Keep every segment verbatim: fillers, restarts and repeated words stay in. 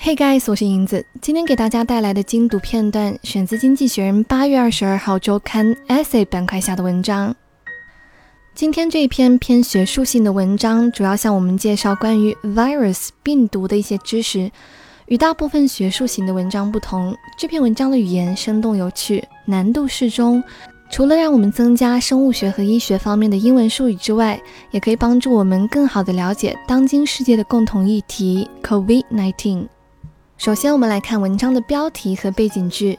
Hey guys， 我是银子，今天给大家带来的精读片段选自《经济学人》八月二十二号周刊 Essay 板块下的文章。今天这一篇偏学术性的文章，主要向我们介绍关于 virus 病毒的一些知识。与大部分学术型的文章不同，这篇文章的语言生动有趣，难度适中。除了让我们增加生物学和医学方面的英文术语之外，也可以帮助我们更好地了解当今世界的共同议题 COVID 十九。首先我们来看文章的标题和背景句。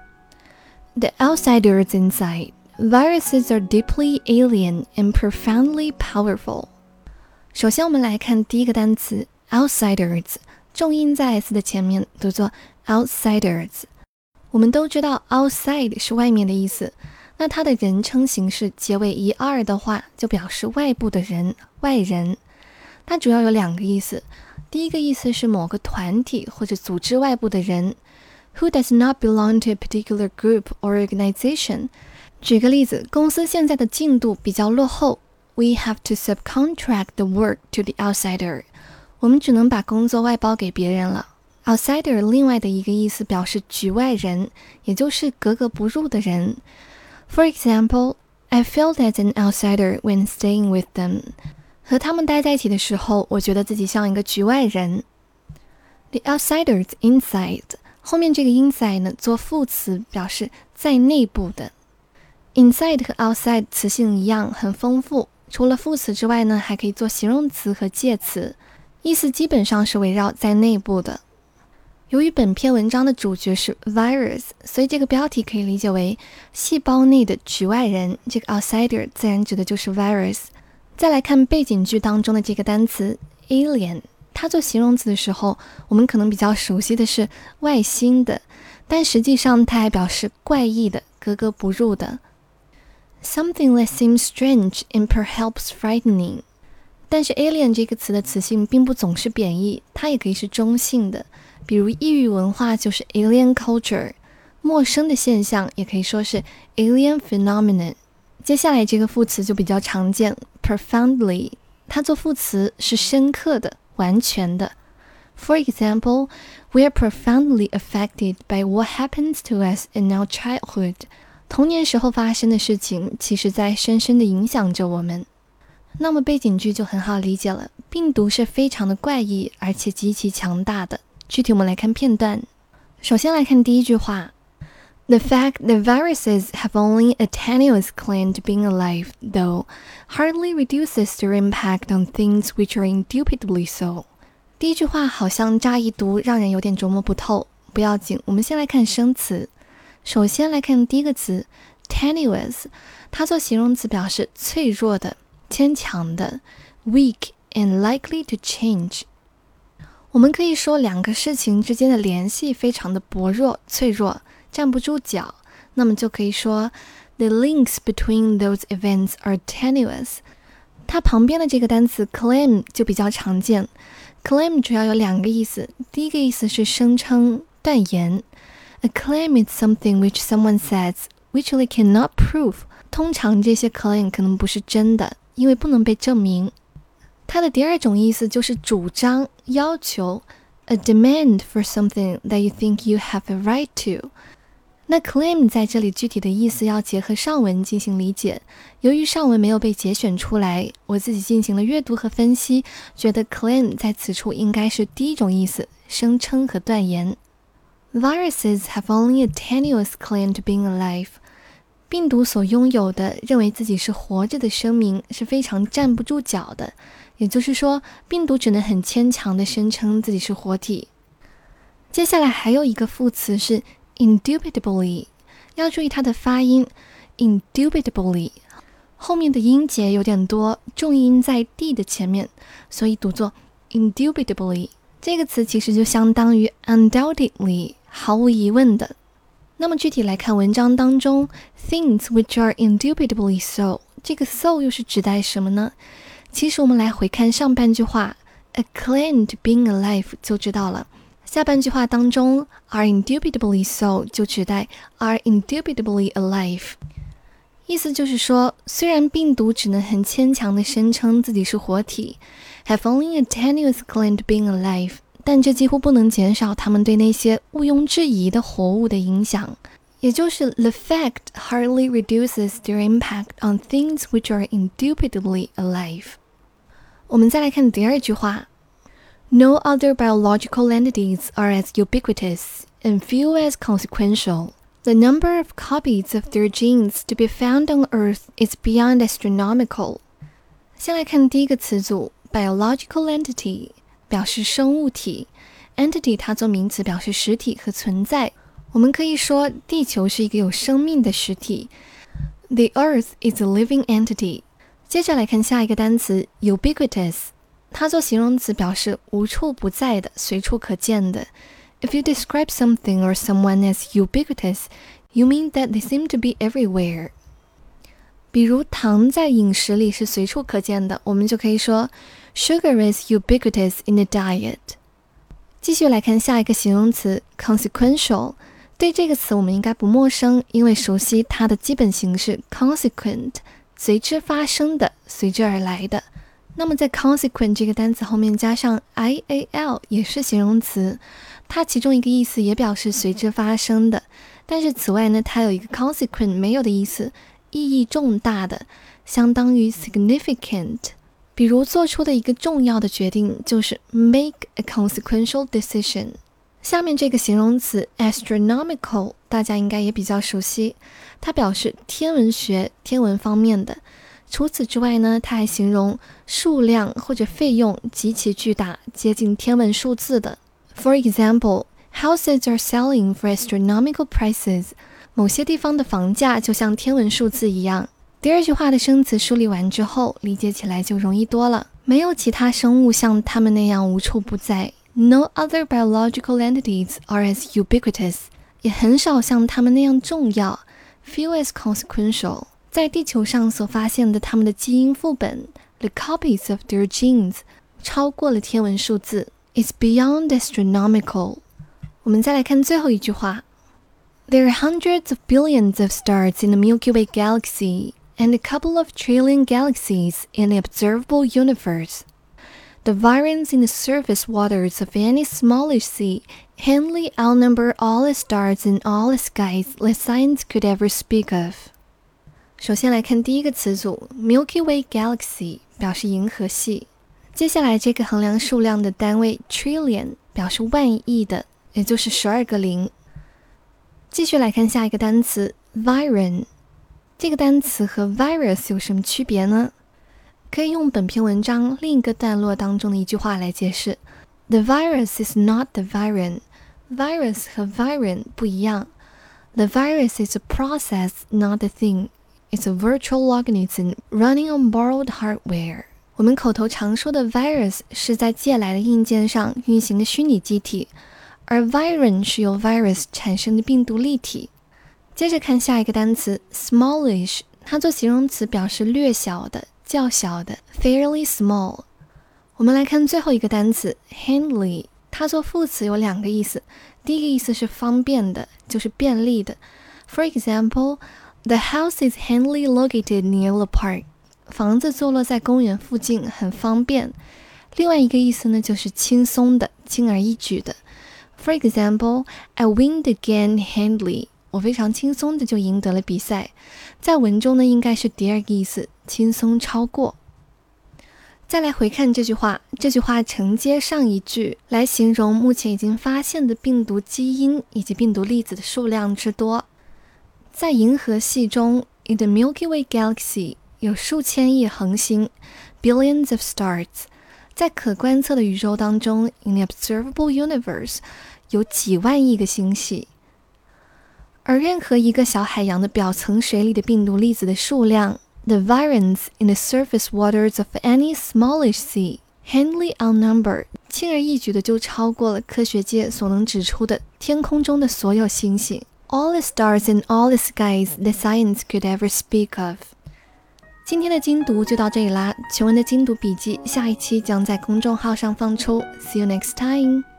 The outsiders inside. Viruses are deeply alien and profoundly powerful. 首先我们来看第一个单词 outsiders， 重音在 s 的前面，读作 outsiders。 我们都知道 outside 是外面的意思，那它的人称形式结尾一 r 的话，就表示外部的人，外人。它主要有两个意思，第一个意思是某个团体或者组织外部的人 who does not belong to a particular group or organization。 举个例子，公司现在的进度比较落后， we have to subcontract the work to the outsider。 我们只能把工作外包给别人了。 outsider 另外的一个意思表示局外人，也就是格格不入的人。 For example, I felt as an outsider when staying with them。和他们待在一起的时候，我觉得自己像一个局外人。 The outsiders inside， 后面这个 inside 呢做副词，表示在内部的。 Inside 和 outside 词性一样，很丰富，除了副词之外呢，还可以做形容词和介词，意思基本上是围绕在内部的。由于本篇文章的主角是 virus， 所以这个标题可以理解为细胞内的局外人，这个 outsider 自然指的就是 virus。再来看背景句当中的这个单词 alien， 它做形容词的时候，我们可能比较熟悉的是外星的，但实际上它还表示怪异的，格格不入的。 Something that seems strange and perhaps frightening。 但是 alien 这个词的词性并不总是贬义，它也可以是中性的，比如异域文化就是 alien culture， 陌生的现象也可以说是 alien phenomenon。接下来这个副词就比较常见 profoundly， 它做副词是深刻的，完全的。 For example, we are profoundly affected by what happens to us in our childhood。 童年时候发生的事情其实在深深地影响着我们。那么背景句就很好理解了，病毒是非常的怪异而且极其强大的。具体我们来看片段。首先来看第一句话，The fact that viruses have only a tenuous claim to being alive, though, hardly reduces their impact on things which are indubitably so。 第一句话好像乍一读让人有点琢磨不透，不要紧，我们先来看生词。首先来看第一个词 tenuous， 它做形容词表示脆弱的，坚强的， weak and likely to change。 我们可以说两个事情之间的联系非常的薄弱，脆弱，站不住脚，那么就可以说 The links between those events are tenuous。 它旁边的这个单词 claim 就比较常见。 claim 主要有两个意思，第一个意思是声称、断言。 A claim is something which someone says which they cannot prove。 通常这些 claim 可能不是真的，因为不能被证明。它的第二种意思就是主张、要求 A demand for something that you think you have a right to。 那 claim 在这里具体的意思要结合上文进行理解，由于上文没有被节选出来，我自己进行了阅读和分析，觉得 claim 在此处应该是第一种意思，声称和断言。 Viruses have only a tenuous claim to being alive。 病毒所拥有的认为自己是活着的声明是非常站不住脚的，也就是说病毒只能很牵强地声称自己是活体。接下来还有一个副词是 indubitably， 要注意它的发音 indubitably， 后面的音节有点多，重音在 d 的前面，所以读作 indubitably。 这个词其实就相当于 undoubtedly， 毫无疑问的。那么具体来看文章当中 things which are indubitably so， 这个 so 又是指代什么呢？其实我们来回看上半句话 a claim to being alive 就知道了，下半句话当中 are indubitably so 就指代 are indubitably alive。 意思就是说，虽然病毒只能很牵强地声称自己是活体 have only a tenuous claim to being alive， 但这几乎不能减少它们对那些毋庸置疑的活物的影响，也就是 the fact hardly reduces their impact on things which are indubitably alive。 我们再来看第二句话， No other biological entities are as ubiquitous and few as consequential. The number of copies of their genes to be found on Earth is beyond astronomical。 先来看第一个词组 biological entity， 表示生物体， entity 它做名词表示实体和存在。我们可以说地球是一个有生命的实体， The Earth is a living entity。 接着来看下一个单词 ubiquitous， 它做形容词表示无处不在的，随处可见的。If you describe something or someone as ubiquitous, you mean that they seem to be everywhere。 比如糖在饮食里是随处可见的，我们就可以说 Sugar is ubiquitous in the diet。 继续来看下一个形容词 consequential， 对这个词我们应该不陌生，因为熟悉它的基本形式 consequent， 随之发生的，随之而来的。那么在 consequent 这个单词后面加上 ial 也是形容词，它其中一个意思也表示随之发生的，但是此外呢，它有一个 consequent 没有的意思，意义重大的，相当于 significant。 比如做出的一个重要的决定就是 make a consequential decision。 下面这个形容词 astronomical 大家应该也比较熟悉，它表示天文学天文方面的。除此之外呢，它还形容数量或者费用极其巨大，接近天文数字的。For example, houses are selling for astronomical prices。 某些地方的房价就像天文数字一样。第二句话的生词梳理完之后，理解起来就容易多了。没有其他生物像它们那样无处不在。No other biological entities are as ubiquitous。 也很少像它们那样重要。Few as consequential。在地球上所发现的它们的基因副本 the copies of their genes 超过了天文数字 is beyond astronomical。 我们再来看最后一句话， There are hundreds of billions of stars in the Milky Way galaxy and a couple of trillion galaxies in the observable universe. The virions in the surface waters of any smallish sea handily outnumber all the stars in all the skies that science could ever speak of。首先来看第一个词组 Milky Way Galaxy 表示银河系，接下来这个衡量数量的单位 trillion 表示万亿的，也就是十二个零。继续来看下一个单词 virion， 这个单词和 virus 有什么区别呢？可以用本篇文章另一个段落当中的一句话来解释， The virus is not the virion。 Virus 和 virion 不一样， The virus is a process, not a thing.It's a virtual organism running on borrowed hardware。 我们口头常说的 virus 是在借来的硬件上运行的虚拟机体，而 virion 是由 virus 产生的病毒粒体。接着看下一个单词 smallish， 它做形容词表示略小的，较小的 fairly small。 我们来看最后一个单词 handily， 它做副词有两个意思，第一个意思是方便的，就是便利的。 For example，The house is handily located near the park。 房子坐落在公园附近，很方便。另外一个意思呢，就是轻松的，轻而易举的。For example, I win the game handily。 我非常轻松的就赢得了比赛。在文中呢，应该是第二个意思，轻松超过。再来回看这句话，这句话承接上一句，来形容目前已经发现的病毒基因以及病毒粒子的数量之多。在银河系中 in the Milky Way Galaxy 有数千亿恒星 billions of stars。 在可观测的宇宙当中 in the observable universe 有几万亿个星系。而任何一个小海洋的表层水里的病毒粒子的数量 the virions in the surface waters of any smallish sea handily outnumber 轻而易举的就超过了科学界所能指出的天空中的所有星星All the stars in all the skies that science could ever speak of。 今天的精读就到这里啦，全文的精读笔记下一期将在公众号上放出。See you next time。